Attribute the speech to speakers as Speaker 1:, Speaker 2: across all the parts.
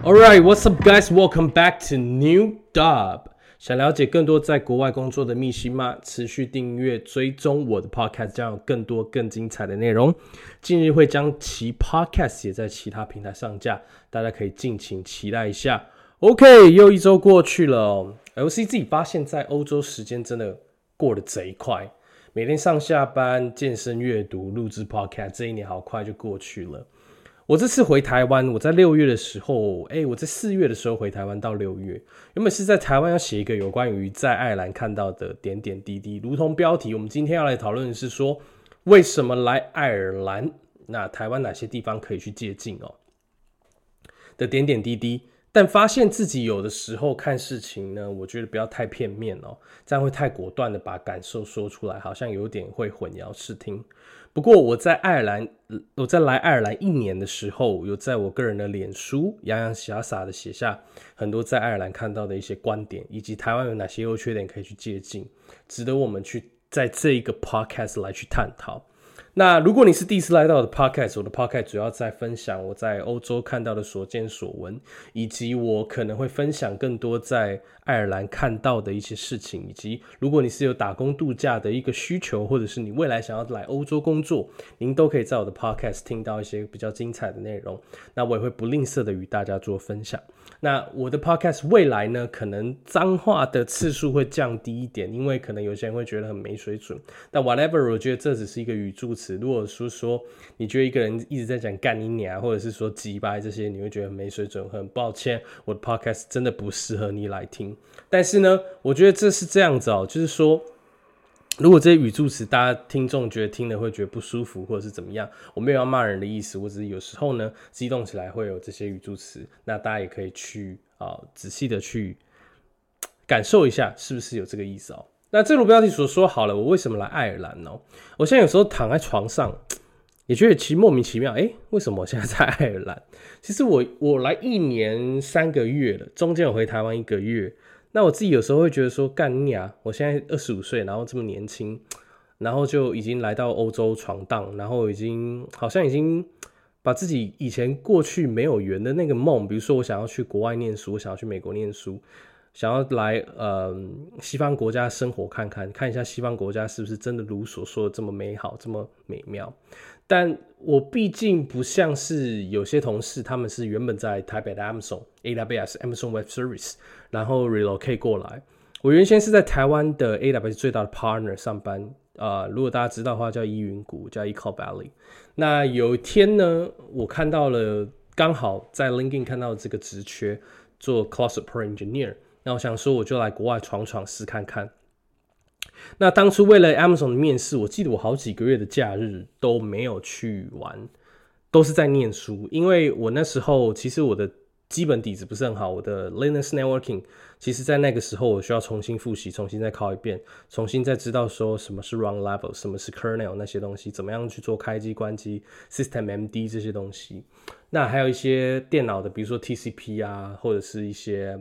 Speaker 1: Alright, what's up, guys? Welcome back to New Dub. 想了解更多在国外工作的秘辛吗？持续订阅追踪我的 podcast， 将有更多更精彩的内容。近日会将其 podcast 也在其他平台上架，大家可以敬请期待一下。OK， 又一周过去了哦。LC 自己发现，在欧洲时间真的过得贼快，每天上下班、健身、阅读、录制 podcast， 这一年好快就过去了。我这次回台湾，我在6月的时候，我在4月的时候回台湾到6月，原本是在台湾要写一个有关于在爱尔兰看到的点点滴滴，如同标题，我们今天要来讨论的是说，为什么来爱尔兰？那台湾哪些地方可以去借鉴哦？的点点滴滴，但发现自己有的时候看事情呢，我觉得不要太片面哦，这样会太果断的把感受说出来，好像有点会混淆视听。不过我在来爱尔兰1年的时候，有在我个人的脸书洋洋洒洒的写下很多在爱尔兰看到的一些观点，以及台湾有哪些优缺点可以去借鉴，值得我们去在这一个 podcast 来去探讨。那如果你是第一次来到我的 podcast， 我的 podcast 主要在分享我在欧洲看到的所见所闻，以及我可能会分享更多在爱尔兰看到的一些事情，以及如果你是有打工度假的一个需求，或者是你未来想要来欧洲工作，您都可以在我的 podcast 听到一些比较精彩的内容。那我也会不吝啬的与大家做分享。那我的 podcast 未来呢，可能脏话的次数会降低一点，因为可能有些人会觉得很没水准。但 whatever， 我觉得这只是一个语助词。如果说你觉得一个人一直在讲干你娘，或者是说鸡掰这些，你会觉得很没水准，很抱歉，我的 podcast 真的不适合你来听。但是呢，我觉得这是这样子哦，就是说，如果这些语助词大家听众觉得听了会觉得不舒服，或者是怎么样，我没有要骂人的意思，我只是有时候呢激动起来会有这些语助词，那大家也可以去仔细的去感受一下是不是有这个意思哦。那正如标题所说好了，我为什么来爱尔兰呢？我现在有时候躺在床上也觉得其实莫名其妙，为什么我现在在爱尔兰？其实我来1年3个月了，中间有回台湾1个月。那我自己有时候会觉得说，干你啊！我现在25岁，然后这么年轻，然后就已经来到欧洲闯荡，然后好像已经把自己以前过去没有圆的那个梦，比如说我想要去国外念书，我想要去美国念书，想要来西方国家生活看一下西方国家是不是真的如所说的这么美好，这么美妙。但我毕竟不像是有些同事，他们是原本在台北的 AWS Amazon Web Service， 然后 relocate 过来。我原先是在台湾的 AWS 最大的 partner 上班，如果大家知道的话，叫依云谷，叫 Ecole Valley。那有一天呢，我看到了，刚好在 LinkedIn 看到这个职缺，做 Cloud Support Engineer。那我想说，我就来国外闯闯试看看。那当初为了 Amazon 的面试，我记得我好几个月的假日都没有去玩，都是在念书。因为我那时候其实我的基本底子不是很好，我的 Linux Networking 其实在那个时候我需要重新复习，重新再考一遍，重新再知道说什么是 run level， 什么是 kernel 那些东西，怎么样去做开机关机 system MD 这些东西。那还有一些电脑的，比如说 TCP 啊，或者是一些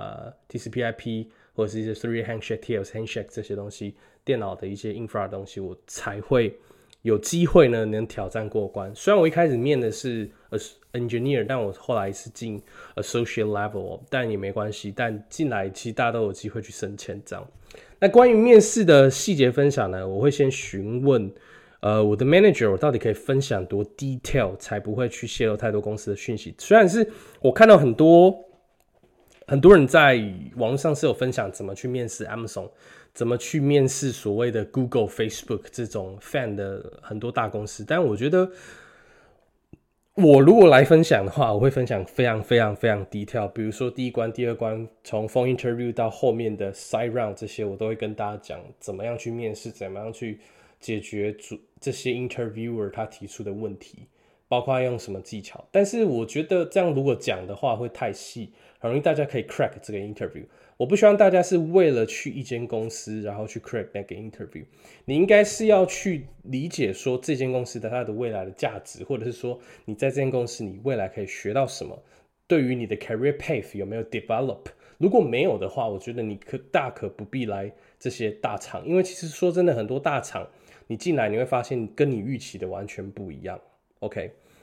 Speaker 1: TCP/IP， 或者是一些 3 handshake、TLS handshake 这些东西，电脑的一些 infra 的东西，我才会有机会呢能挑战过关。虽然我一开始面的是 engineer， 但我后来是进 associate level， 但也没关系。但进来其实大家都有机会去升迁这样。那关于面试的细节分享呢，我会先询问我的 manager， 我到底可以分享多 detail， 才不会去泄露太多公司的讯息。虽然是我看到很多人在网络上是有分享怎么去面试 Amazon， 怎么去面试所谓的 Google、Facebook 这种 fan 的很多大公司，但我觉得我如果来分享的话，我会分享非常非常非常 detail， 比如说第1关、第2关，从 phone interview 到后面的 side round 这些，我都会跟大家讲怎么样去面试，怎么样去解决这些 interviewer 他提出的问题，包括用什么技巧。但是我觉得这样如果讲的话会太细，很容易大家可以 crack 这个 interview。我不希望大家是为了去一间公司然后去 crack 那个 interview， 你应该是要去理解说这间公司的它的未来的价值，或者是说你在这间公司你未来可以学到什么，对于你的 career path 有没有 develop。 如果没有的话，我觉得你大可不必来这些大厂，因为其实说真的，很多大厂你进来你会发现跟你预期的完全不一样。OK，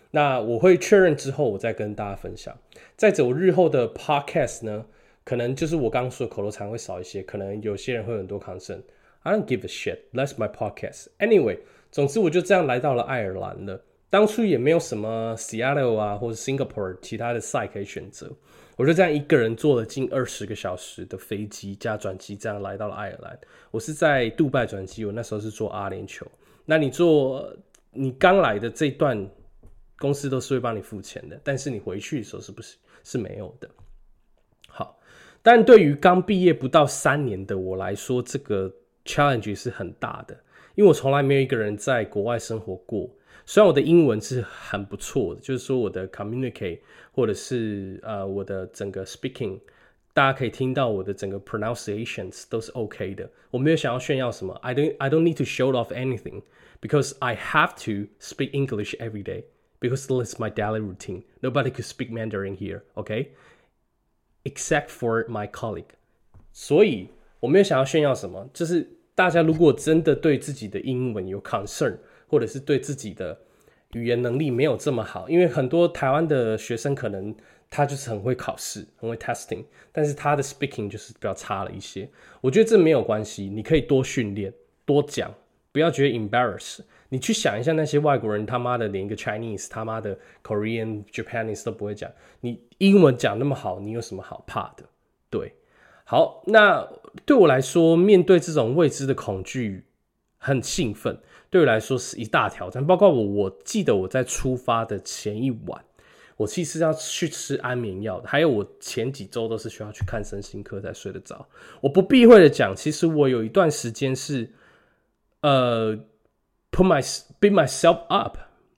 Speaker 1: 那我会确认之后，我再跟大家分享。再者，我日后的 podcast 呢，可能就是我刚刚说的口头禅会少一些，可能有些人会有很多 concern。I don't give a shit. That's my podcast. Anyway， 总之我就这样来到了爱尔兰了。当初也没有什么 Seattle 啊或者 Singapore 其他的赛可以选择，我就这样一个人坐了近20个小时的飞机加转机，这样来到了爱尔兰。我是在杜拜转机，我那时候是坐阿联酋。那你刚来的这段，公司都是会帮你付钱的，但是你回去的时候是没有的。好，但对于刚毕业不到3年的我来说，这个 challenge 是很大的，因为我从来没有一个人在国外生活过。虽然我的英文是很不错的，就是说我的 communicate 或者是我的整个 speaking， 大家可以听到我的整个 pronunciations 都是 OK 的。我没有想要炫耀什么 I don't need to show off anything because I have to speak English every day because it's my daily routine. Nobody could speak Mandarin here, okay? Except for my colleague. 所以我没有想要炫耀什么，就是大家如果真的对自己的英文有 concern，或者是对自己的语言能力没有这么好，因为很多台湾的学生可能他就是很会考试，很会 testing， 但是他的 speaking 就是比较差了一些。我觉得这没有关系，你可以多训练，多讲，不要觉得 embarrass。你去想一下那些外国人，他妈的连一个 Chinese， 他妈的 Korean、Japanese 都不会讲，你英文讲那么好，你有什么好怕的？对，好，那对我来说，面对这种未知的恐惧，很兴奋。对我来说是一大挑战，包括我记得我在出发的前一晚，我其实要去吃安眠药的，还有我前几周都是需要去看身心科才睡得着。我不避讳的讲，其实我有一段时间是beat myself up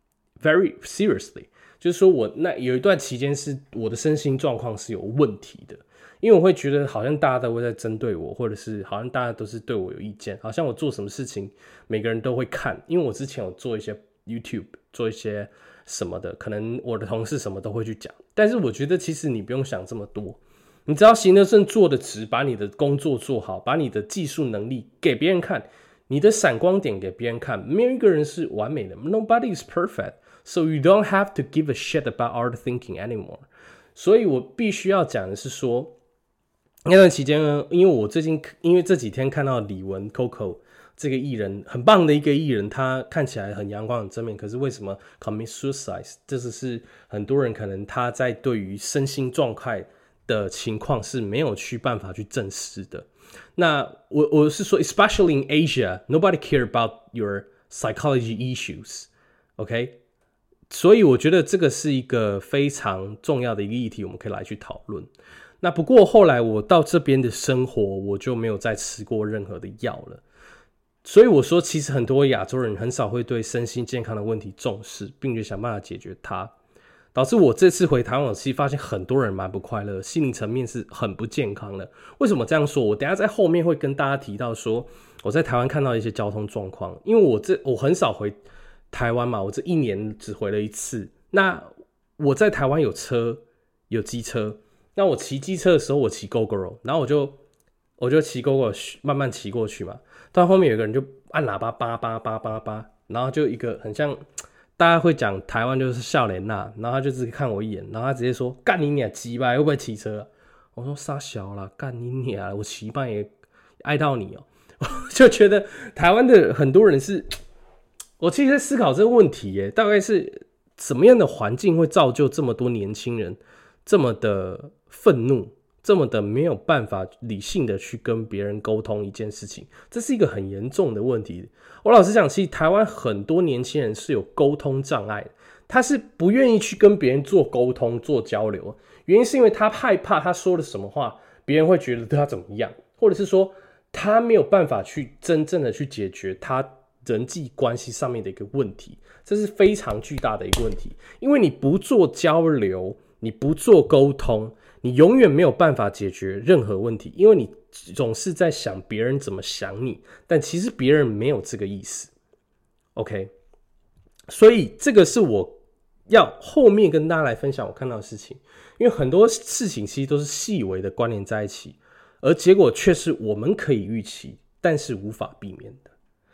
Speaker 1: very seriously， 就是说我那有一段期间是我的身心状况是有问题的。因为我会觉得好像大家都会在针对我，或者是好像大家都是对我有意见，好像我做什么事情每个人都会看。因为我之前有做一些 YouTube， 做一些什么的，可能我的同事什么都会去讲。但是我觉得其实你不用想这么多，你只要行得正坐得直，把你的工作做好，把你的技术能力给别人看，你的闪光点给别人看。没有一个人是完美的 ，Nobody is perfect， so you don't have to give a shit about our thinking anymore。所以我必须要讲的是说。那段期间呢，因为这几天看到李玟 Coco 这个艺人，很棒的一个艺人，他看起来很阳光很正面，可是为什么 commit suicide？ 这是很多人可能他在对于身心状态的情况是没有办法去正视的。那我是说 ，especially in Asia, nobody care about your psychology issues, OK？ 所以我觉得这个是一个非常重要的一个议题，我们可以来去讨论。那不过后来我到这边的生活，我就没有再吃过任何的药了。所以我说，其实很多亚洲人很少会对身心健康的问题重视，并且想办法解决它，导致我这次回台湾，我其实发现很多人蛮不快乐，心灵层面是很不健康的。为什么这样说？我等一下在后面会跟大家提到说，我在台湾看到一些交通状况，因为我很少回台湾嘛，我这1年只回了1次。那我在台湾有车，有机车。那我骑机车的时候，我骑 GoGo， 然后我就骑 GoGo 慢慢骑过去嘛。到后面有个人就按喇叭叭叭叭叭叭，然后就一个很像大家会讲台湾就是笑脸呐，然后他就直接看我一眼，然后他直接说干你娘鸡巴，会不会骑车啊？我说傻小啦，干你娘，我骑半也爱到你哦。我就觉得台湾的很多人是，我其实在思考这个问题耶，大概是什么样的环境会造就这么多年轻人这么的愤怒，这么的没有办法理性的去跟别人沟通一件事情，这是一个很严重的问题。我老实讲，其实台湾很多年轻人是有沟通障碍的，他是不愿意去跟别人做沟通、做交流，原因是因为他害怕他说了什么话，别人会觉得对他怎么样，或者是说他没有办法去真正的去解决他人际关系上面的一个问题，这是非常巨大的一个问题。因为你不做交流，你不做沟通，你永远没有办法解决任何问题，因为你总是在想别人怎么想你，但其实别人没有这个意思。OK， 所以这个是我要后面跟大家来分享我看到的事情，因为很多事情其实都是细微的关联在一起，而结果却是我们可以预期，但是无法避免的。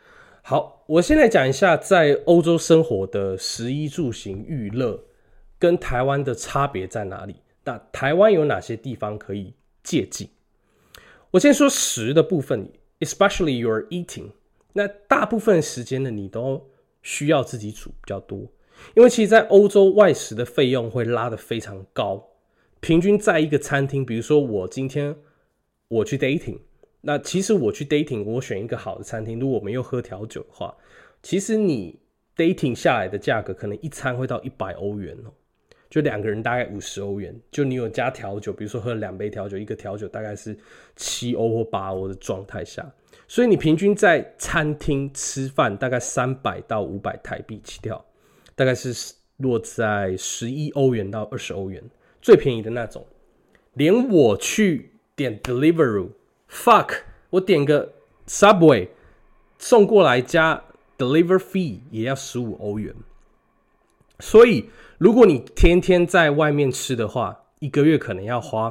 Speaker 1: 好，我先来讲一下在欧洲生活的食衣住行娱乐跟台湾的差别在哪里。那台湾有哪些地方可以借鉴？我先说食的部分 ，especially your eating。那大部分时间呢，你都需要自己煮比较多，因为其实在欧洲外食的费用会拉得非常高。平均在一个餐厅，比如说我今天我去 dating， 那其实我去 dating， 我选一个好的餐厅，如果我们又喝调酒的话，其实你 dating 下来的价格可能一餐会到100欧元哦，就2个人大概50欧元，就你有加调酒，比如说喝2杯调酒，一个调酒大概是7欧或8欧的状态下，所以你平均在餐厅吃饭大概300到500台币起跳，大概是落在11欧元到20欧元，最便宜的那种。连我去点 Deliveroo， fuck， 我点个 Subway 送过来加 Deliver Fee 也要15欧元。所以如果你天天在外面吃的话，一个月可能要花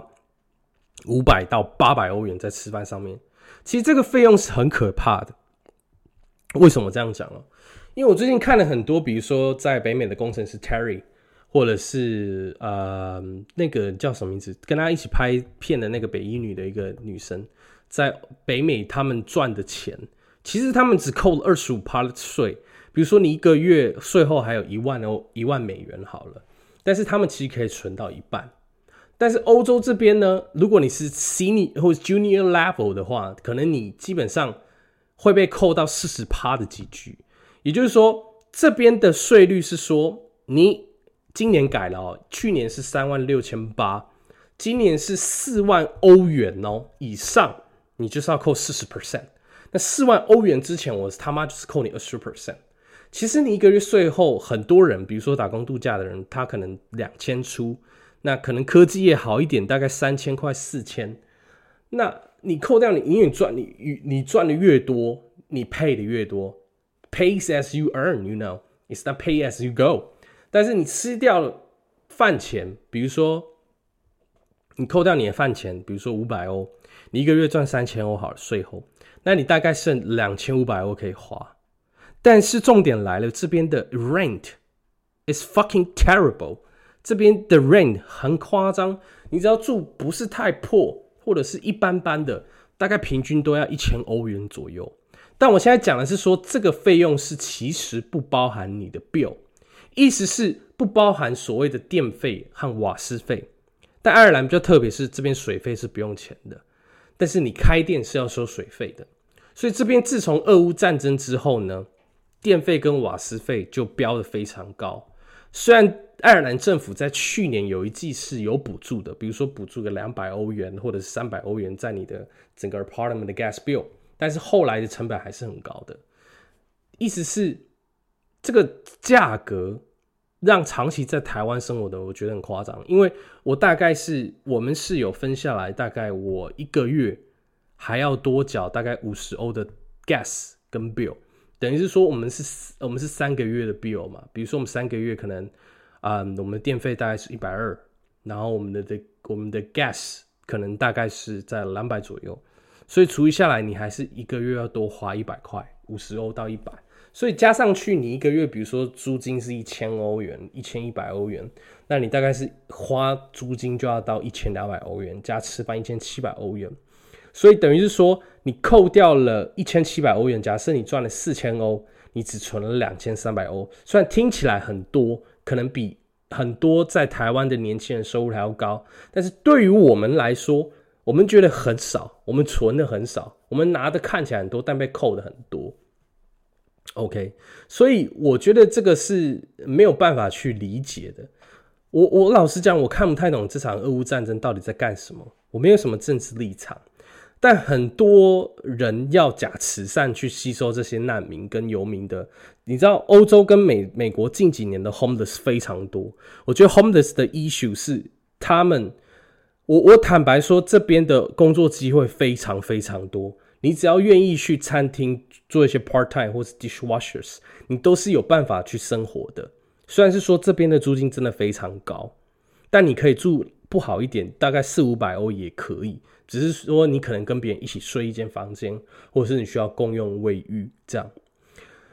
Speaker 1: 500到800欧元在吃饭上面。其实这个费用是很可怕的。为什么这样讲呢？因为我最近看了很多，比如说在北美的工程师 Terry， 或者是那个叫什么名字，跟他一起拍片的那个北一女的一个女生，在北美他们赚的钱，其实他们只扣了 25% 的税。比如说你一个月税后还有1万美元好了，但是他们其实可以存到一半。但是欧洲这边呢，如果你是 senior 或 junior level 的话，可能你基本上会被扣到 40% 的集聚。也就是说，这边的税率是说，你今年改了哦，去年是36800，今年是4万欧元哦以上，你就是要扣 40%。那4万欧元之前，我他妈就是扣你 20%。其实你一个月税后，很多人，比如说打工度假的人，他可能2000出，那可能科技业好一点，大概3000块4000。那你扣掉你赚的越多，你 pay 的越多。Pay as you earn, you know, it's not pay as you go。但是你吃掉了饭钱，比如说你扣掉你的饭钱，比如说500欧，你一个月赚3000欧好了，税后，那你大概剩2500欧可以花。但是重点来了，这边的 rent is fucking terrible。这边的 rent 很夸张，你只要住不是太破或者是一般般的，大概平均都要1000欧元左右。但我现在讲的是说，这个费用是其实不包含你的 bill， 意思是不包含所谓的电费和瓦斯费。但爱尔兰比较特别，是这边水费是不用钱的，但是你开店是要收水费的。所以这边自从俄乌战争之后呢，电费跟瓦斯费就飙得非常高。虽然爱尔兰政府在去年有一季是有补助的，比如说补助个200欧元或者是300欧元在你的整个 apartment 的 gas bill， 但是后来的成本还是很高的。意思是这个价格让长期在台湾生活的我觉得很夸张，因为我们室友分下来，大概我一个月还要多缴大概50欧的 gas 跟 bill， 等于是说我们是3个月的 bill 嘛。比如说我们3个月可能我们的电费大概是120，然后我们的 gas 可能大概是在200左右，所以除以下来你还是一个月要多花100块，50欧到100。所以加上去，你一个月，比如说租金是1000欧元，1100欧元，那你大概是花租金就要到1200欧元，加吃饭1700欧元。所以等于是说，你扣掉了1700欧元，假设你赚了4000欧，你只存了2300欧。虽然听起来很多，可能比很多在台湾的年轻人收入还要高，但是对于我们来说，我们觉得很少，我们存的很少，我们拿的看起来很多，但被扣的很多。OK， 所以我觉得这个是没有办法去理解的。我老实讲，我看不太懂这场俄乌战争到底在干什么。我没有什么政治立场，但很多人要假慈善去吸收这些难民跟游民的。你知道，欧洲跟美国近几年的 homeless 非常多。我觉得 homeless 的 issue 是他们，我坦白说，这边的工作机会非常非常多。你只要愿意去餐厅做一些 part time 或是 dishwashers， 你都是有办法去生活的。虽然是说这边的租金真的非常高，但你可以住不好一点，大概400-500欧也可以。只是说你可能跟别人一起睡一间房间，或者是你需要共用卫浴这样。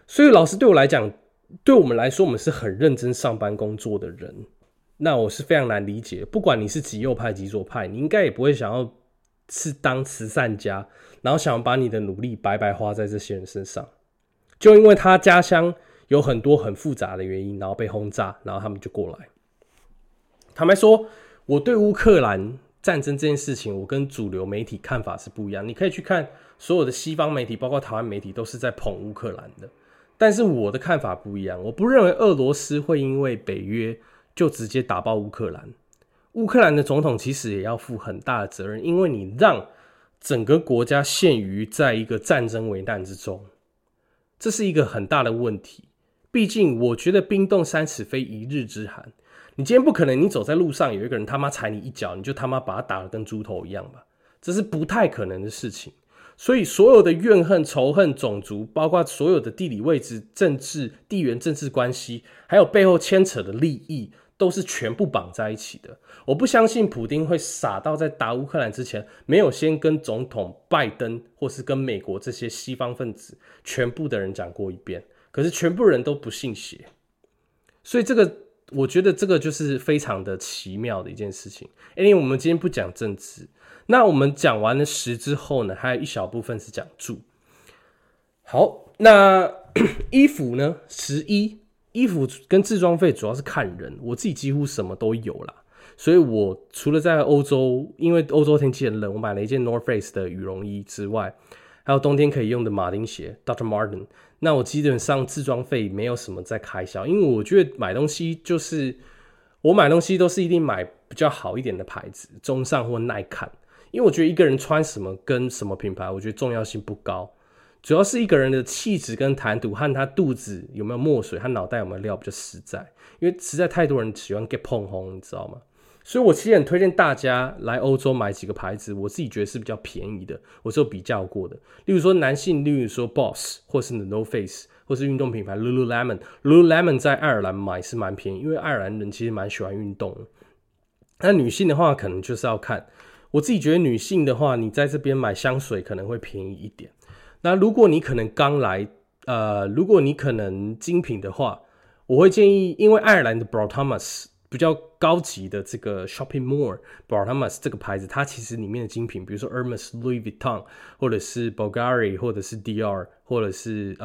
Speaker 1: 所以老师对我来讲，对我们来说，我们是很认真上班工作的人。那我是非常难理解，不管你是极右派极左派，你应该也不会想要是当慈善家，然后想要把你的努力白白花在这些人身上。就因为他家乡有很多很复杂的原因，然后被轰炸，然后他们就过来。坦白说，我对乌克兰战争这件事情，我跟主流媒体看法是不一样。你可以去看所有的西方媒体，包括台湾媒体，都是在捧乌克兰的。但是我的看法不一样，我不认为俄罗斯会因为北约就直接打爆乌克兰。乌克兰的总统其实也要负很大的责任，因为你让整个国家陷于在一个战争危难之中，这是一个很大的问题。毕竟我觉得冰冻三尺非一日之寒，你今天不可能你走在路上有一个人他妈踩你一脚，你就他妈把他打得跟猪头一样吧，这是不太可能的事情。所以所有的怨恨、仇恨、种族，包括所有的地理位置、政治、地缘政治关系，还有背后牵扯的利益，都是全部绑在一起的。我不相信普丁会傻到在打乌克兰之前，没有先跟总统拜登或是跟美国这些西方分子全部的人讲过一遍。可是全部人都不信邪，所以我觉得这个就是非常的奇妙的一件事情。因为我们今天不讲政治，那我们讲完了食之后呢，还有一小部分是讲住。好，那衣服呢？11衣服跟置装费主要是看人，我自己几乎什么都有啦。所以我除了在欧洲，因为欧洲天气很冷，我买了一件 North Face 的羽绒衣之外，还有冬天可以用的马丁鞋 Dr. Martin。那我基本上置装费没有什么在开销，因为我觉得买东西就是我买东西都是一定买比较好一点的牌子，中上或耐看。因为我觉得一个人穿什么跟什么品牌，我觉得重要性不高，主要是一个人的气质跟谈吐和他肚子有没有墨水，他脑袋有没有料比较实在。因为实在太多人喜欢 get 碰红，你知道吗？所以我其实很推荐大家来欧洲买几个牌子，我自己觉得是比较便宜的，我是有比较过的。例如说男性，例如说 Boss 或是 The North Face， 或是运动品牌 Lululemon 在爱尔兰买是蛮便宜，因为爱尔兰人其实蛮喜欢运动的。那女性的话可能就是要看，我自己觉得女性的话，你在这边买香水可能会便宜一点。那如果你可能刚来，如果你可能精品的话，我会建议，因为爱尔兰的 Brot Thomas比较高级的这个 Shopping Mall Brot Thomas 这个牌子，它其实里面的精品，比如说 Hermes、Louis Vuitton， 或者是 Bulgari， 或者是 Dior， 或者是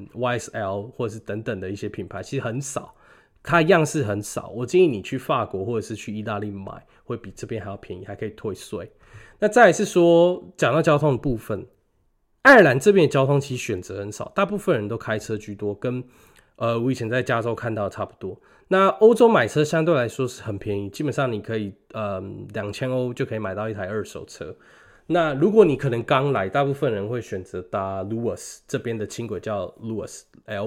Speaker 1: YSL， 或者是等等的一些品牌，其实很少，它样式很少。我建议你去法国或者是去意大利买，会比这边还要便宜，还可以退税。那再来是说，讲到交通的部分，爱尔兰这边的交通其实选择很少，大部分人都开车居多，跟我以前在加州看到的差不多。那欧洲买车相对来说是很便宜，基本上你可以2000欧就可以买到一台二手车。那如果你可能刚来，大部分人会选择搭 Luas， 这边的轻轨叫 Luas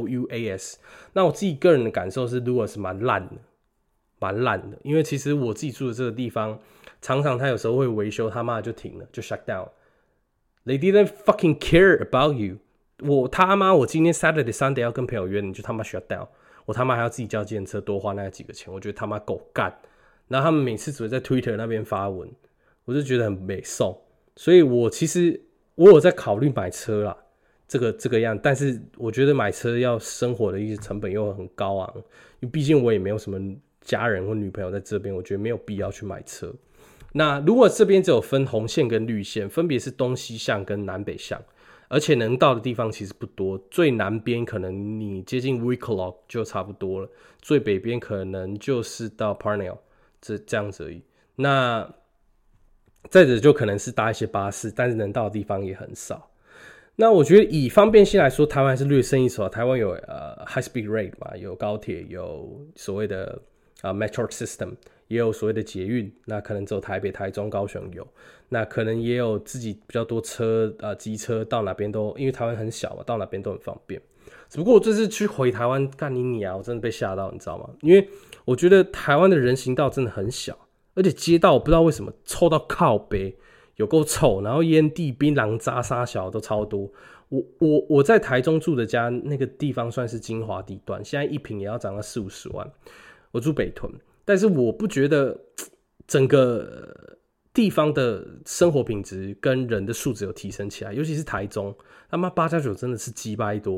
Speaker 1: Luas。那我自己个人的感受是 Luas 蛮烂的，因为其实我自己住的这个地方，常常他有时候会维修，他妈就停了，就 shut down。They didn't fucking care about you。我今天 Saturday Sunday 要跟朋友约，你就他妈 shut down。我他妈还要自己叫计程车，多花那几个钱，我觉得他妈够干。然后他们每次只会在 Twitter 那边发文，我就觉得很美送。所以其实我有在考虑买车啦，这个样，但是我觉得买车要生活的一些成本又很高昂，因为毕竟我也没有什么家人或女朋友在这边，我觉得没有必要去买车。那如果这边只有分红线跟绿线，分别是东西向跟南北向，而且能到的地方其实不多，最南边可能你接近 Wicklow 就差不多了，最北边可能就是到 Parnell 这样子而已。那再者就可能是搭一些巴士，但是能到的地方也很少。那我觉得以方便性来说，台湾还是略胜一筹。台湾有high speed rail 嘛，有高铁，有所谓的metro system， 也有所谓的捷运。那可能只有台北、台中、高雄有。那可能也有自己比较多车机车，到哪边都，因为台湾很小嘛，到哪边都很方便。只不过我这次去回台湾干你啊，我真的被吓到，你知道吗？因为我觉得台湾的人行道真的很小，而且街道我不知道为什么臭到靠北，有够臭，然后烟蒂、槟榔渣、沙小都超多。我在台中住的家那个地方算是精华地段，现在一坪也要涨到40-50万。我住北屯，但是我不觉得整个地方的生活品质跟人的素质有提升起来，尤其是台中，他妈8+9真的是鸡掰多。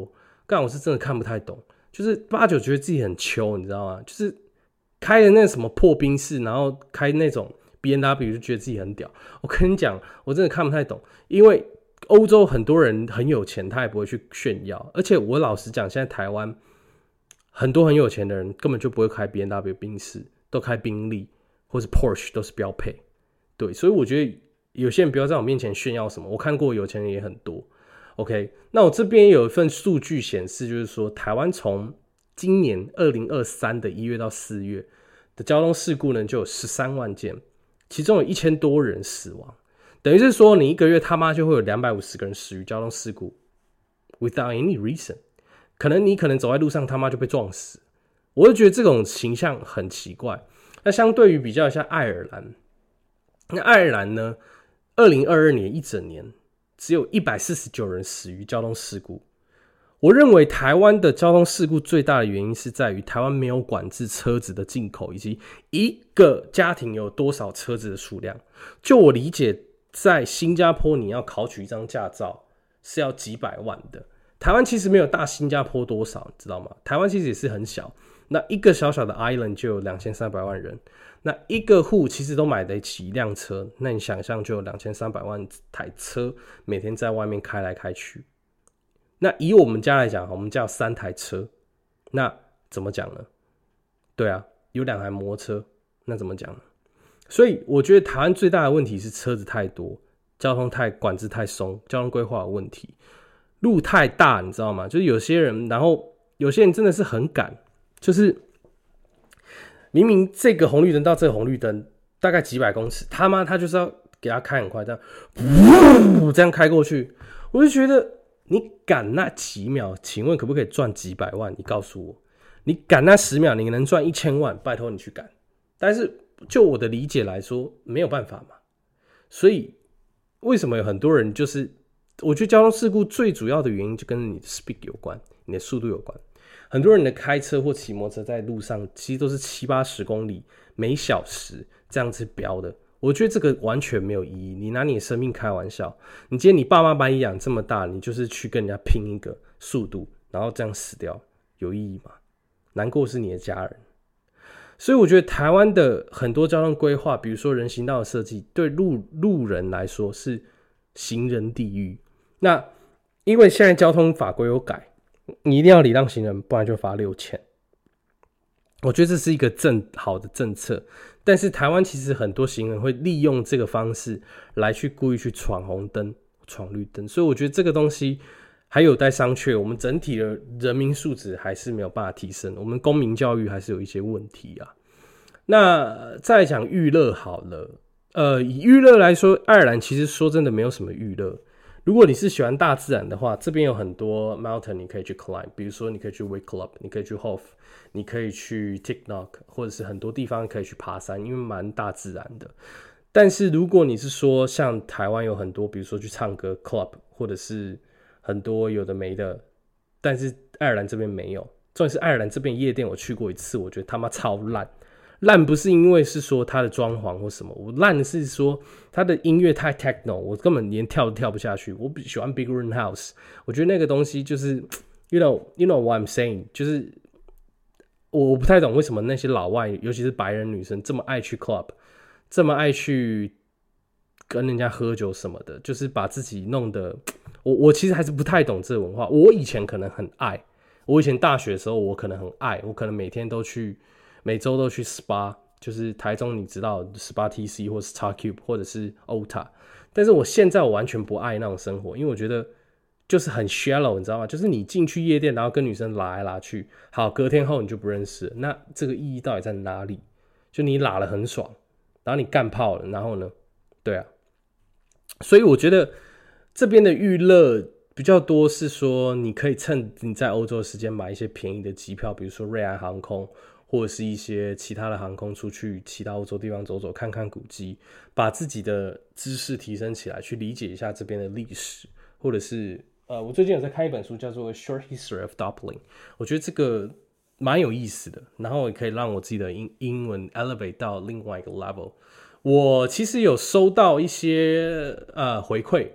Speaker 1: 干我是真的看不太懂，就是八九觉得自己很秋，你知道吗？就是开的那什么破宾士，然后开那种 BMW 就觉得自己很屌。我跟你讲，我真的看不太懂，因为欧洲很多人很有钱，他也不会去炫耀。而且我老实讲，现在台湾很多很有钱的人根本就不会开 BMW 宾士，都开宾利或是 Porsche 都是标配。对，所以我觉得有些人不要在我面前炫耀什么，我看过有钱人也很多。OK， 那我这边有一份数据显示，就是说台湾从今年2023的1月到4月的交通事故呢，就有13万件，其中有1000多人死亡，等于是说你一个月他妈就会有250个人死于交通事故 ，without any reason， 你可能走在路上他妈就被撞死，我就觉得这种形象很奇怪。那相对于比较一下爱尔兰，那爱尔兰呢，2022年一整年只有149人死于交通事故。我认为台湾的交通事故最大的原因是在于台湾没有管制车子的进口，以及一个家庭有多少车子的数量。就我理解，在新加坡你要考取一张驾照是要几百万的，台湾其实没有大新加坡多少，你知道吗？台湾其实也是很小，那一个小小的 island 就有2300万人，那一个户其实都买得起一辆车，那你想象就有2300万台车每天在外面开来开去。那以我们家来讲，我们家有3台车，那怎么讲呢？对啊，有2台摩托车，那怎么讲呢？所以我觉得台湾最大的问题是车子太多，交通管制太松，交通规划有问题，路太大，你知道吗？就是有些人，然后有些人真的是很赶，就是明明这个红绿灯到这个红绿灯大概几百公尺，他就是要给他开很快，这样开过去，我就觉得你赶那几秒，请问可不可以赚几百万？你告诉我，你赶那10秒，你能赚1000万，拜托你去赶。但是就我的理解来说，没有办法嘛。所以为什么有很多人就是，我觉得交通事故最主要的原因就跟你的 speed 有关，你的速度有关。很多人的开车或骑摩托车在路上，其实都是70-80公里每小时这样子飙的。我觉得这个完全没有意义，你拿你的生命开玩笑。你今天你爸妈把你养这么大，你就是去跟人家拼一个速度，然后这样死掉，有意义吗？难过是你的家人。所以我觉得台湾的很多交通规划，比如说人行道的设计，对路人来说是行人地狱。那因为现在交通法规有改，你一定要礼让行人，不然就罚6000。我觉得这是一个好的政策，但是台湾其实很多行人会利用这个方式来去故意去闯红灯、闯绿灯，所以我觉得这个东西还有待商榷。我们整体的人民素质还是没有办法提升，我们公民教育还是有一些问题啊。那再讲娱乐好了，以娱乐来说，爱尔兰其实说真的没有什么娱乐。如果你是喜欢大自然的话，这边有很多 mountain 你可以去 climb， 比如说你可以去 Wake Club， 你可以去 Hof， 你可以去 Tiknock， 或者是很多地方可以去爬山，因为蛮大自然的。但是如果你是说像台湾有很多，比如说去唱歌 club， 或者是很多有的没的，但是爱尔兰这边没有。重点是爱尔兰这边夜店我去过一次，我觉得他妈超烂。烂不是因为是说它的装潢或什么，我烂的是说它的音乐太 techno， 我根本连跳都跳不下去。我喜欢 Big Room House， 我觉得那个东西就是 you know what I'm saying， 就是我不太懂为什么那些老外，尤其是白人女生这么爱去 club， 这么爱去跟人家喝酒什么的，就是把自己弄得我其实还是不太懂这个文化。我以前可能很爱，我以前大学的时候我可能很爱，我可能每天都去。每周都去 SPA， 就是台中你知道 SPA TC 或是 XCube 或者是 OTA， 但是我现在我完全不爱那种生活，因为我觉得就是很 shallow， 你知道吗？就是你进去夜店，然后跟女生拉来拉去，好，隔天后你就不认识了，那这个意义到底在哪里？就你拉了很爽，然后你干炮了，然后呢？对啊，所以我觉得这边的娱乐比较多是说，你可以趁你在欧洲的时间买一些便宜的机票，比如说瑞安航空。或者是一些其他的航空出去其他欧洲地方走走，看看古迹，把自己的知识提升起来，去理解一下这边的历史，或者是我最近有在看一本书叫做《Short History of Dublin》，我觉得这个蛮有意思的，然后也可以让我自己的英文 elevate 到另外一个 level。我其实有收到一些回馈，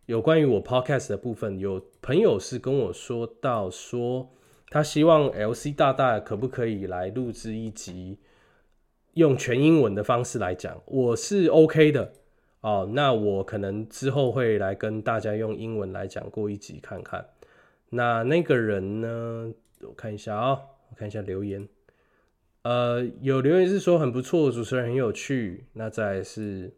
Speaker 1: 有关于我 podcast 的部分，有朋友是跟我说到说，他希望 LC 大大可不可以来录制一集用全英文的方式来讲，我是 OK 的哦。那我可能之后会来跟大家用英文来讲过一集看看。那个人呢，我看一下我看一下留言。有留言是说很不错，主持人很有趣。那再来是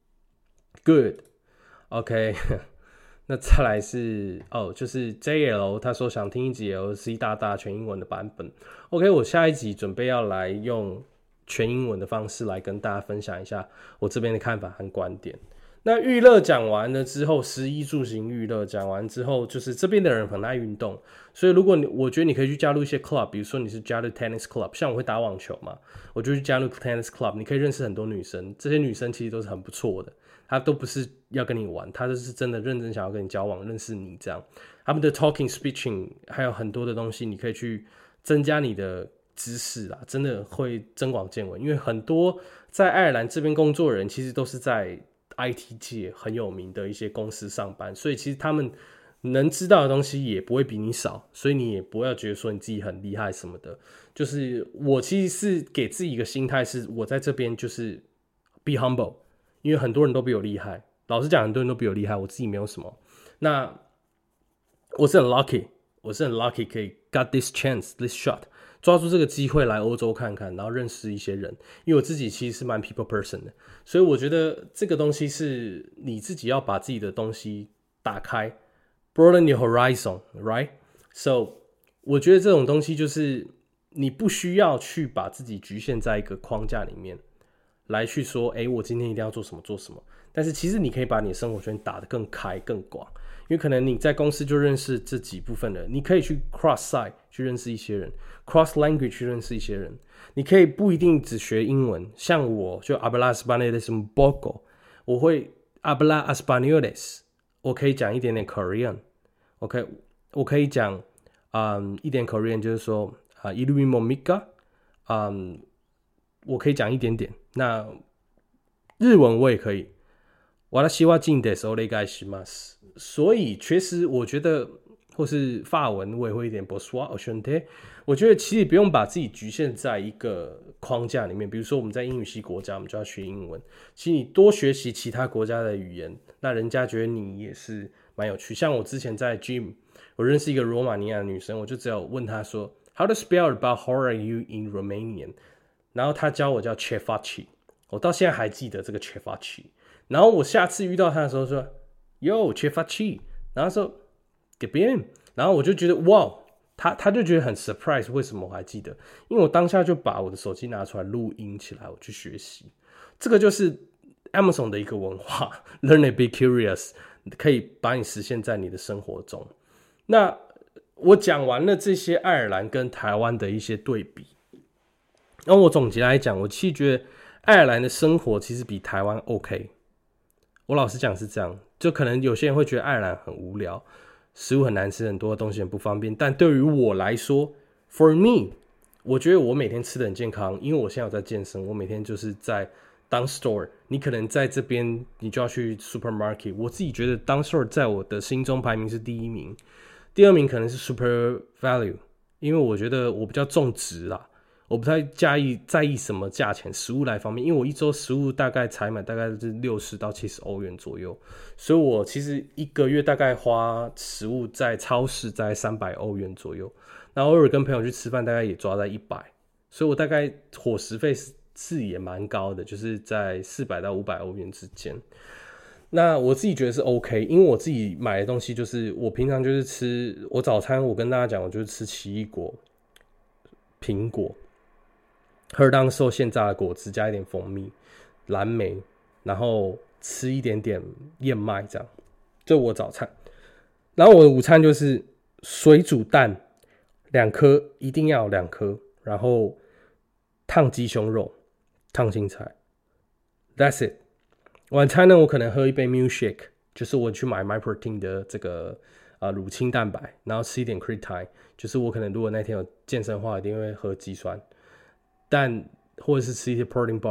Speaker 1: good。OK， 那再来是就是 JL， 他说想听一集 LC 大大全英文的版本。OK， 我下一集准备要来用全英文的方式来跟大家分享一下我这边的看法和观点。那娱乐讲完了之后，食衣住行娱乐讲完之后，就是这边的人很爱运动，所以如果我觉得你可以去加入一些 club， 比如说你是加入 tennis club， 像我会打网球嘛，我就去加入 tennis club， 你可以认识很多女生，这些女生其实都是很不错的，她都不是要跟你玩，她就是真的认真想要跟你交往，认识你这样。他们的 talking speaking 还有很多的东西，你可以去增加你的知识啦，真的会增广见闻，因为很多在爱尔兰这边工作的人其实都是在IT 界很有名的一些公司上班，所以其实他们能知道的东西也不会比你少，所以你也不要觉得说你自己很厉害什么的。就是我其实是给自己一个心态，是我在这边就是 be humble， 因为很多人都比我厉害。老实讲，很多人都比我厉害，我自己没有什么。那我是很 lucky， 可以 got this chance this shot。抓住这个机会来欧洲看看，然后认识一些人，因为我自己其实是蛮 people person 的，所以我觉得这个东西是你自己要把自己的东西打开 broaden your horizon right so 我觉得这种东西就是你不需要去把自己局限在一个框架里面来去说我今天一定要做什么做什么，但是其实你可以把你的生活圈打得更开更广，因为可能你在公司就认识这几部分人，你可以去 cross side 去认识一些人， cross language 去认识一些人，你可以不一定只学英文，像我就 habla españoles un poco， 我会 habla españoles， 我可以讲一点点 Korean， OK， 我可以讲一点 Korean， 就是说이름이 뭡니까， 我可以讲一点点。那日文我也可以，私は真ですお願いします。所以确实我觉得，或是法文我也会一点 bonsoir enchanté。我觉得其实不用把自己局限在一个框架里面，比如说我们在英语系国家，我们就要学英文。其实你多学习其他国家的语言，那人家觉得你也是蛮有趣。像我之前在 gym， 我认识一个罗马尼亚的女生，我就只有问她说 How to spell about how are you in Romanian？ 然后她教我叫 cefaci， 我到现在还记得这个 cefaci。然后我下次遇到她的时候说 Yo cefaci， 然后说 Qué bien， 然后我就觉得哇。他就觉得很 surprise， 为什么我还记得？因为我当下就把我的手机拿出来录音起来，我去学习。这个就是 Amazon 的一个文化 ，Learn and be curious， 可以把你实现在你的生活中。那我讲完了这些爱尔兰跟台湾的一些对比，然后我总结来讲，我其实觉得爱尔兰的生活其实比台湾 OK。我老实讲是这样，就可能有些人会觉得爱尔兰很无聊。食物很难吃，很多东西很不方便，但对于我来说 ，for me， 我觉得我每天吃的很健康，因为我现在有在健身，我每天就是在当 store。你可能在这边，你就要去 supermarket。我自己觉得当 store 在我的心中排名是第一名，第二名可能是 super value， 因为我觉得我比较重质啦，我不太在意什么价钱，食物来方面，因为我一周食物大概采买大概是60到70欧元左右，所以我其实一个月大概花食物在超市在300欧元左右，那偶尔跟朋友去吃饭大概也抓在100，所以我大概伙食费是也蛮高的，就是在400到500欧元之间。那我自己觉得是 OK， 因为我自己买的东西就是我平常就是吃，我早餐我跟大家讲，我就是吃奇异果、苹果。喝当受现榨的果汁，加一点蜂蜜、蓝莓，然后吃一点点燕麦，这样，这我早餐。然后我的午餐就是水煮蛋2颗，一定要2颗，然后烫鸡胸肉、烫青菜 ，That's it。晚餐呢，我可能喝一杯 milkshake， 就是我去买 MyProtein 的这个乳清蛋白，然后吃一点 creatine， 就是我可能如果那天有健身的话，一定会喝肌酸。但或者是吃一些 protein bar，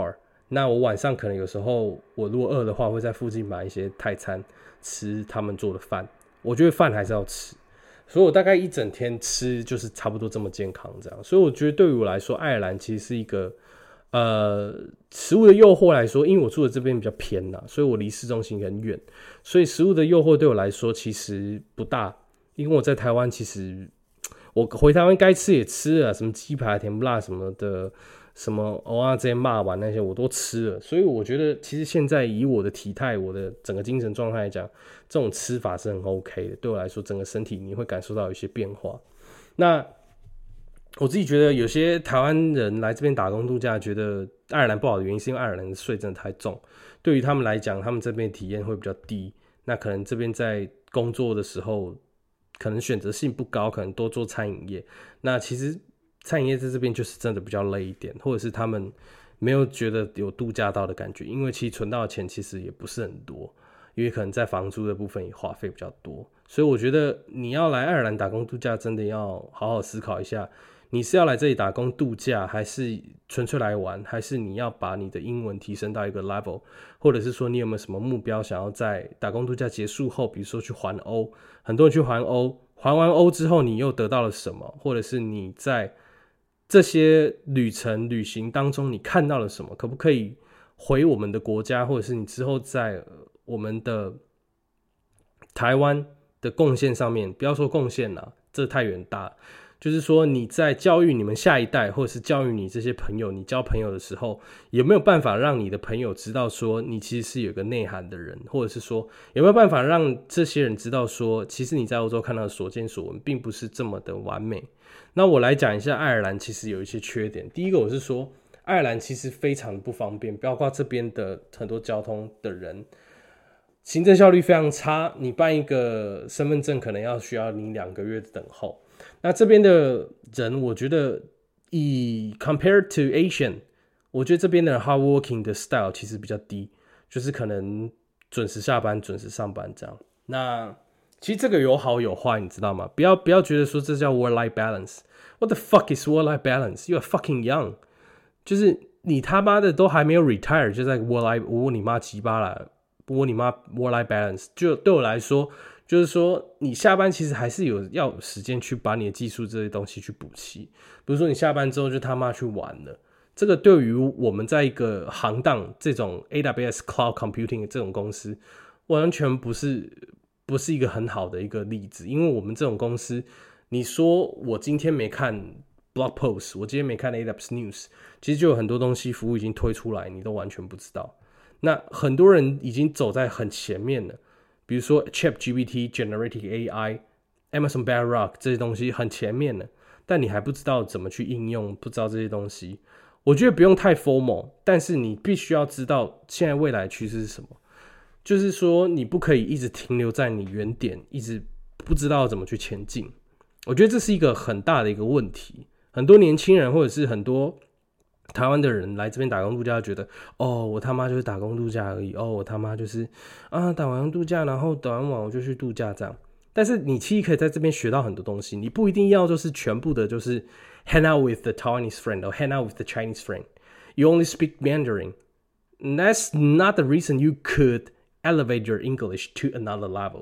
Speaker 1: 那我晚上可能有时候我如果饿的话，会在附近买一些泰餐吃他们做的饭。我觉得饭还是要吃，所以我大概一整天吃就是差不多这么健康这样。所以我觉得对于我来说，爱尔兰其实是一个食物的诱惑来说，因为我住的这边比较偏啦，所以我离市中心很远，所以食物的诱惑对我来说其实不大。因为我在台湾，其实我回台湾该吃也吃了，什么鸡排、甜不辣什么的，什么蚵仔煎、肉丸那些我都吃了。所以我觉得，其实现在以我的体态、我的整个精神状态来讲，这种吃法是很 OK 的。对我来说，整个身体你会感受到有一些变化。那我自己觉得，有些台湾人来这边打工度假，觉得爱尔兰不好的原因，是因为爱尔兰的税真的太重，对于他们来讲，他们这边体验会比较低。那可能这边在工作的时候，可能选择性不高，可能多做餐饮业。那其实餐饮业在这边就是真的比较累一点，或者是他们没有觉得有度假到的感觉，因为其实存到的钱其实也不是很多，因为可能在房租的部分也花费比较多。所以我觉得你要来爱尔兰打工度假，真的要好好思考一下，你是要来这里打工度假，还是纯粹来玩，还是你要把你的英文提升到一个 level， 或者是说你有没有什么目标想要在打工度假结束后，比如说去环欧，很多人去环欧，环完欧之后你又得到了什么，或者是你在这些旅行当中你看到了什么，可不可以回我们的国家，或者是你之后在我们的台湾的贡献上面，不要说贡献啦，这太远大了，就是说你在教育你们下一代，或者是教育你这些朋友，你交朋友的时候，有没有办法让你的朋友知道说你其实是有个内涵的人，或者是说有没有办法让这些人知道说，其实你在欧洲看到的所见所闻并不是这么的完美。那我来讲一下爱尔兰其实有一些缺点。第一个我是说爱尔兰其实非常的不方便，包括这边的很多交通的人行政效率非常差，你办一个身份证可能需要你2个月的等候。那这边的人我觉得以 compared to Asian， 我觉得这边的 hard working 的 style 其实比较低，就是可能准时下班准时上班这样。那其实这个有好有坏，你知道吗？不要觉得说这叫 work-life balance。 What the fuck is work-life balance? You are fucking young。 就是你他妈的都还没有 retire 就在 work-life， 我你妈鸡巴啦，我你妈 work-life balance。 就对我来说，就是说你下班其实还是要有时间去把你的技术这些东西去补齐。比如说你下班之后就他妈去玩了，这个对于我们在一个行当这种 AWS Cloud Computing 的这种公司，完全不是一个很好的一个例子。因为我们这种公司，你说我今天没看 blog post， 我今天没看 AWS News， 其实就有很多东西服务已经推出来，你都完全不知道。那很多人已经走在很前面了，比如说 ChatGPT、Generative AI、Amazon Bedrock 这些东西很前面了，但你还不知道怎么去应用，不知道这些东西。我觉得不用太 formal， 但是你必须要知道现在未来的趋势是什么。就是说你不可以一直停留在你原点，一直不知道怎么去前进。我觉得这是一个很大的一个问题。很多年轻人或者是很多台湾的人来这边打工度假，觉得哦，我他妈就是打工度假而已，哦，我他妈就是打完度假，然后打完网我就去度假这样。但是你其实可以在这边学到很多东西，你不一定要就是全部的就是 hang out with the Taiwanese friend or hang out with the Chinese friend. You only speak Mandarin. And that's not the reason you could elevate your English to another level.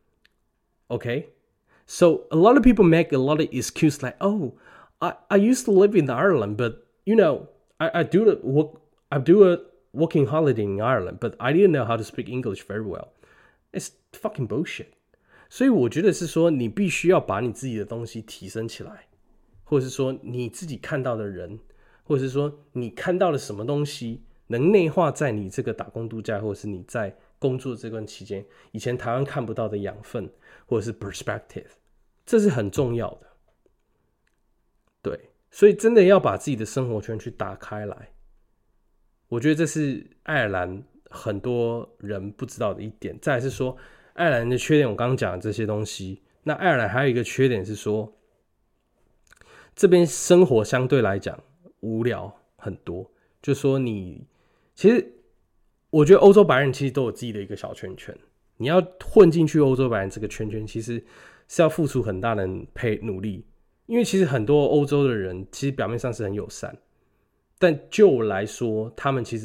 Speaker 1: Okay? So a lot of people make a lot of excuses like, oh, I used to live in Ireland, but you know, I do a working holiday in Ireland, but I didn't know how to speak English very well. It's fucking bullshit. 所以我觉得是说，你必须要把你自己的东西提升起来，或者是说你自己看到的人，或者是说你看到了什么东西，能内化在你这个打工度假，或者是你在工作这段期间，以前台湾看不到的养分，或者是 perspective， 这是很重要的。对，所以真的要把自己的生活圈去打开来。我觉得这是爱尔兰很多人不知道的一点。再来是说，爱尔兰的缺点我刚刚讲的这些东西，那爱尔兰还有一个缺点是说，这边生活相对来讲无聊很多。就说其实我觉得欧洲白人其实都有自己的一个小圈圈，你要混进去欧洲白人这个圈圈，其实是要付出很大的努力。因为其实很多欧洲的人其实表面上是很友善，但就我来说，他们其实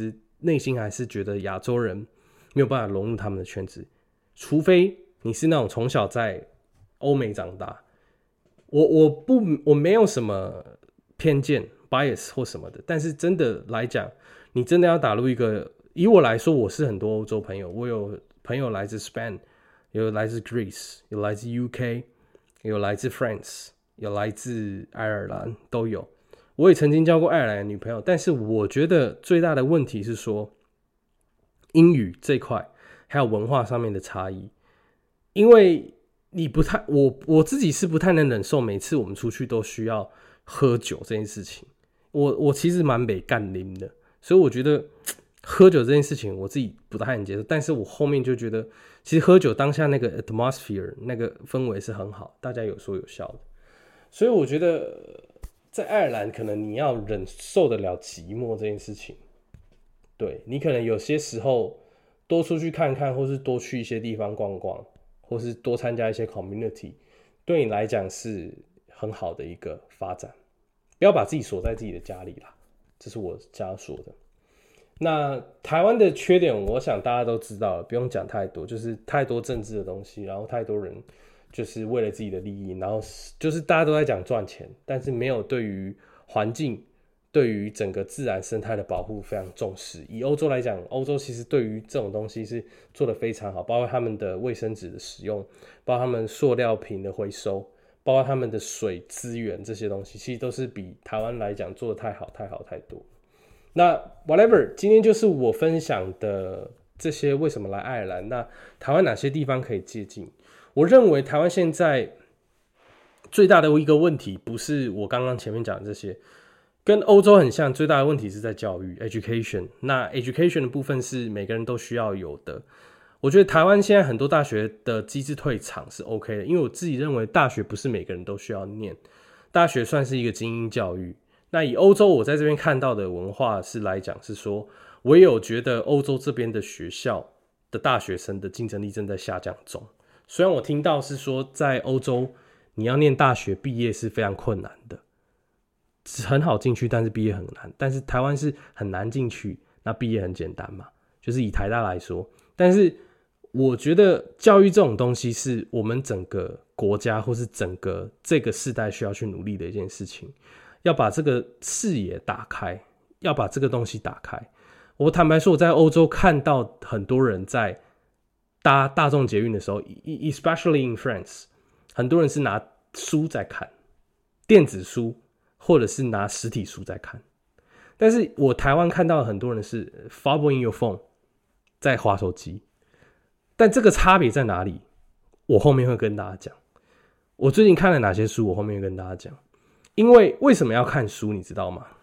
Speaker 1: 内心还是觉得亚洲人没有办法融入他们的圈子，除非你是那种从小在欧美长大。我没有什么偏见 bias 或什么的，但是真的来讲，你真的要打入一个，以我来说，我是很多欧洲朋友，我有朋友来自 Spain， 有来自 Greece， 有来自 UK， 有来自 France， 有来自爱尔兰，都有。我也曾经交过爱尔兰的女朋友，但是我觉得最大的问题是说英语这块还有文化上面的差异，因为你不太，我自己是不太能忍受每次我们出去都需要喝酒这件事情。我其实蛮没干拎的，所以我觉得喝酒这件事情我自己不太能接受。但是我后面就觉得，其实喝酒当下那个 atmosphere 那个氛围是很好，大家有说有笑的。所以我觉得在爱尔兰可能你要忍受得了寂寞这件事情，对，你可能有些时候多出去看看，或是多去一些地方逛逛，或是多参加一些 community， 对你来讲是很好的一个发展。不要把自己锁在自己的家里啦，这是我家说的。那台湾的缺点，我想大家都知道了，不用讲太多，就是太多政治的东西，然后太多人就是为了自己的利益，然后就是大家都在讲赚钱，但是没有对于环境、对于整个自然生态的保护非常重视。以欧洲来讲，欧洲其实对于这种东西是做得非常好，包括他们的卫生纸的使用，包括他们塑料瓶的回收，包括他们的水资源，这些东西其实都是比台湾来讲做得太好太多。那 whatever， 今天就是我分享的这些为什么来爱尔兰，那台湾哪些地方可以接近。我认为台湾现在最大的一个问题，不是我刚刚前面讲的这些，跟欧洲很像，最大的问题是在教育 education。 那 education 的部分是每个人都需要有的。我觉得台湾现在很多大学的机制退场是 OK 的，因为我自己认为大学不是每个人都需要念，大学算是一个精英教育。那以欧洲我在这边看到的文化是来讲，是说我也有觉得欧洲这边的学校的大学生的竞争力正在下降中。虽然我听到是说在欧洲你要念大学毕业是非常困难的，很好进去，但是毕业很难。但是台湾是很难进去，那毕业很简单嘛，就是以台大来说。但是我觉得教育这种东西是我们整个国家或是整个这个世代需要去努力的一件事情，要把这个视野打开，要把这个东西打开。我坦白说，我在欧洲看到很多人在搭大众捷运的时候 especially in France， 很多人是拿书在看，电子书或者是拿实体书在看。但是我台湾看到很多人是 follow in your phone， 在滑手机。但这个差别在哪里？我后面会跟大家讲。我最近看了哪些书，我后面会跟大家讲。因为什么要看书，你知道吗？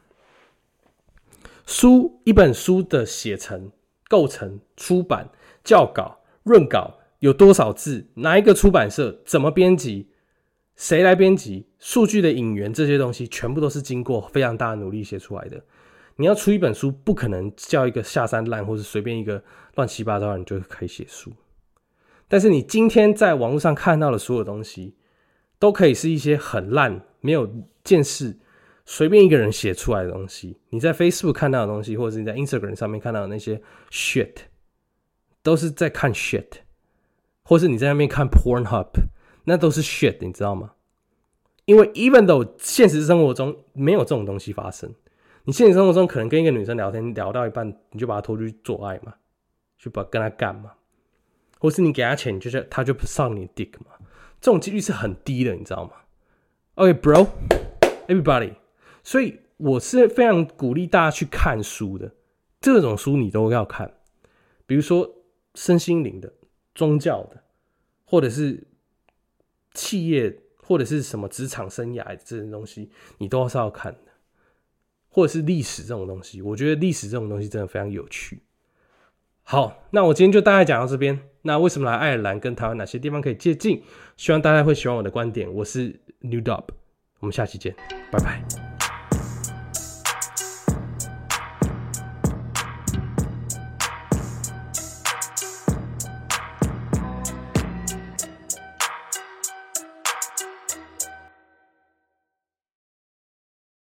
Speaker 1: 一本书的写成、构成、出版、校稿、润稿有多少字，哪一个出版社怎么编辑，谁来编辑，数据的引源，这些东西全部都是经过非常大的努力写出来的。你要出一本书，不可能叫一个下三滥或是随便一个乱七八糟的人就可以写书。但是你今天在网络上看到的所有东西，都可以是一些很烂、没有见识、随便一个人写出来的东西。你在 Facebook 看到的东西，或者是你在 Instagram 上面看到的那些 shit， 都是在看 shit， 或是你在那边看 Pornhub， 那都是 shit， 你知道吗？因为 even though 现实生活中没有这种东西发生，你现实生活中可能跟一个女生聊天聊到一半，你就把她拖去做爱嘛，去跟她干嘛，或是你给她钱，她就上你的 dick 嘛，这种几率是很低的，你知道吗？ OK bro everybody， 所以我是非常鼓励大家去看书的，这种书你都要看，比如说身心灵的、宗教的，或者是企业，或者是什么职场生涯这些东西，你都是要看的。或者是历史这种东西，我觉得历史这种东西真的非常有趣。好，那我今天就大概讲到这边。那为什么来爱尔兰跟台湾哪些地方可以接近？希望大家会喜欢我的观点。我是 New Dub， 我们下期见，拜拜。